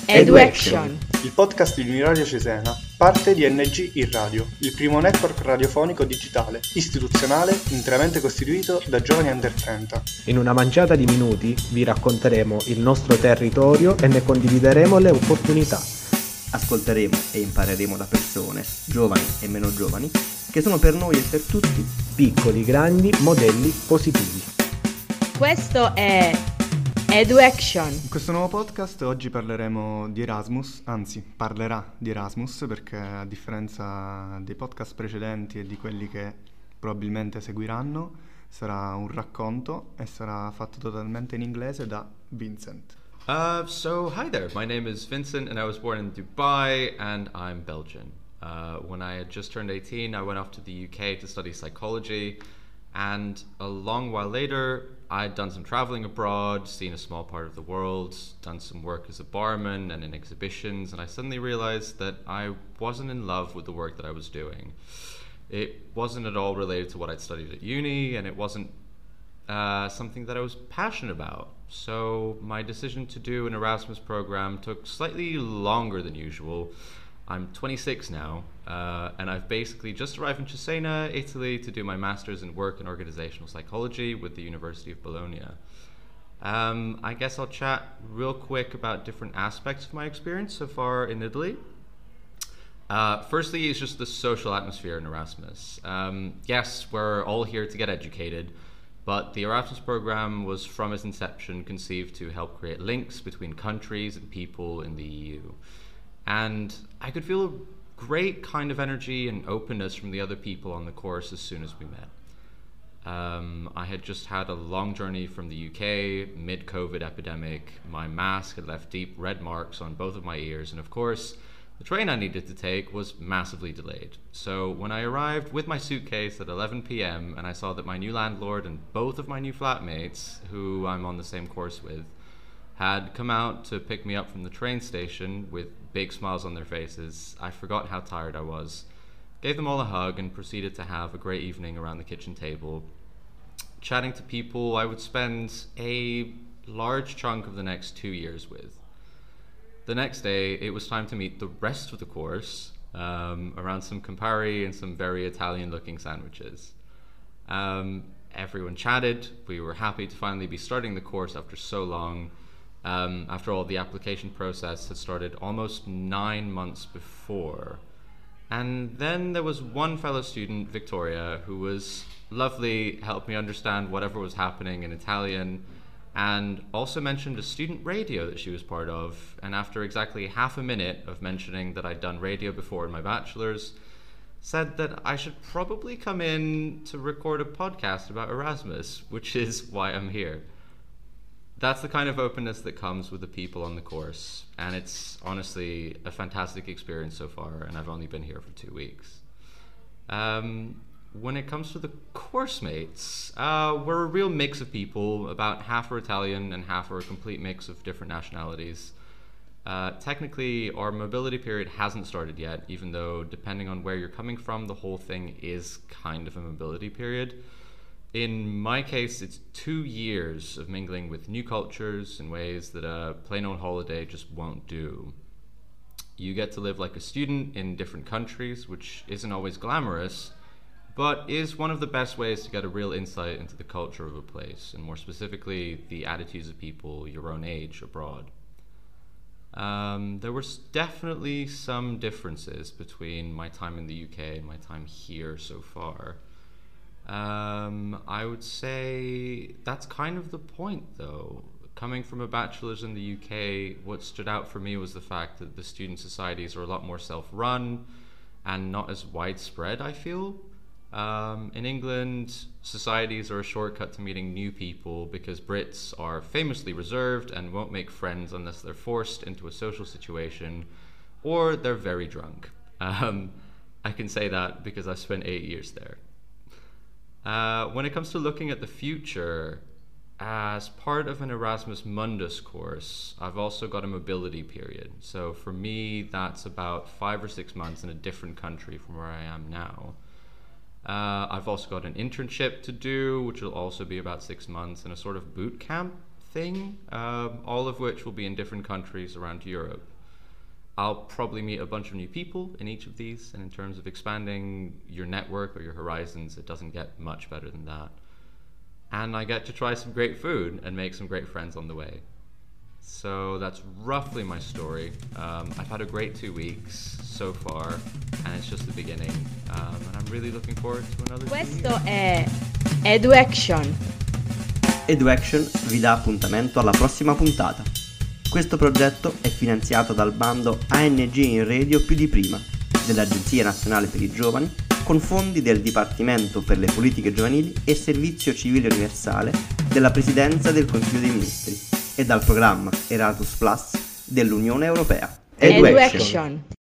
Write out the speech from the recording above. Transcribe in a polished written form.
EduAction, il podcast di Uniradio Cesena, parte di NG in Radio, il primo network radiofonico digitale, istituzionale, interamente costituito da giovani under 30. In una manciata di minuti vi racconteremo il nostro territorio e ne condivideremo le opportunità. Ascolteremo e impareremo da persone, giovani e meno giovani, che sono per noi e per tutti Piccoli, grandi, modelli positivi. questo è EduAction. In questo nuovo podcast oggi parleremo di Erasmus, anzi parlerà di Erasmus perché a differenza dei podcast precedenti e di quelli che probabilmente seguiranno sarà un racconto e sarà fatto totalmente in inglese da Vincent. So hi there, my name is Vincent and I was born in Dubai and I'm Belgian. When I had just turned 18, I went off to the UK to study psychology, and a long while later I'd done some traveling abroad, seen a small part of the world, done some work as a barman and in exhibitions, and I suddenly realized that I wasn't in love with the work that I was doing. It wasn't at all related to what I'd studied at uni, and it wasn't something that I was passionate about. So my decision to do an Erasmus program took slightly longer than usual. I'm 26 now, and I've basically just arrived in Cesena, Italy, to do my master's in work and organizational psychology with the University of Bologna. I guess I'll chat real quick about different aspects of my experience so far in Italy. Firstly, it's just the social atmosphere in Erasmus. Yes, we're all here to get educated, but the Erasmus program was from its inception conceived to help create links between countries and people in the EU. And I could feel a great kind of energy and openness from the other people on the course as soon as we met. I had just had a long journey from the UK, mid-COVID epidemic. My mask had left deep red marks on both of my ears, and of course, the train I needed to take was massively delayed. So when I arrived with my suitcase at 11 p.m. and I saw that my new landlord and both of my new flatmates, who I'm on the same course with, had come out to pick me up from the train station with big smiles on their faces, I forgot how tired I was, gave them all a hug, and proceeded to have a great evening around the kitchen table, chatting to people I would spend a large chunk of the next 2 years with. The next day, it was time to meet the rest of the course around some Campari and some very Italian-looking sandwiches. Everyone chatted. We were happy to finally be starting the course after so long. After all, the application process had started almost 9 months before. And then there was one fellow student, Victoria, who was lovely, helped me understand whatever was happening in Italian, and also mentioned a student radio that she was part of. And after exactly half a minute of mentioning that I'd done radio before in my bachelor's, said that I should probably come in to record a podcast about Erasmus, which is why I'm here. That's the kind of openness that comes with the people on the course, and it's honestly a fantastic experience so far, and I've only been here for 2 weeks. When it comes to the course mates, we're a real mix of people. About half are Italian and half are a complete mix of different nationalities. Technically, our mobility period hasn't started yet, even though depending on where you're coming from, the whole thing is kind of a mobility period. In my case, it's 2 years of mingling with new cultures in ways that a plain old holiday just won't do. You get to live like a student in different countries, which isn't always glamorous, but is one of the best ways to get a real insight into the culture of a place, and more specifically, the attitudes of people your own age abroad. There was definitely some differences between my time in the UK and my time here so far. I would say that's kind of the point, though. Coming from a bachelor's in the UK, what stood out for me was the fact that the student societies are a lot more self-run and not as widespread, I feel. In England, societies are a shortcut to meeting new people because Brits are famously reserved and won't make friends unless they're forced into a social situation or they're very drunk. I can say that because I've spent 8 years there. When it comes to looking at the future, as part of an Erasmus Mundus course, I've also got a mobility period. So for me, that's about 5 or 6 months in a different country from where I am now. I've also got an internship to do, which will also be about 6 months, and a sort of boot camp thing, all of which will be in different countries around Europe. I'll probably meet a bunch of new people in each of these, and in terms of expanding your network or your horizons, it doesn't get much better than that. And I get to try some great food and make some great friends on the way. So that's roughly my story. I've had a great 2 weeks so far, and it's just the beginning. And I'm really looking forward to another 2 years. Questo è EduAction. EduAction vi dà appuntamento alla prossima puntata. Questo progetto è finanziato dal bando ANG in Radio più di prima dell'Agenzia Nazionale per i Giovani, con fondi del Dipartimento per le Politiche Giovanili e Servizio Civile Universale della Presidenza del Consiglio dei Ministri e dal programma Erasmus Plus dell'Unione Europea. EduAction.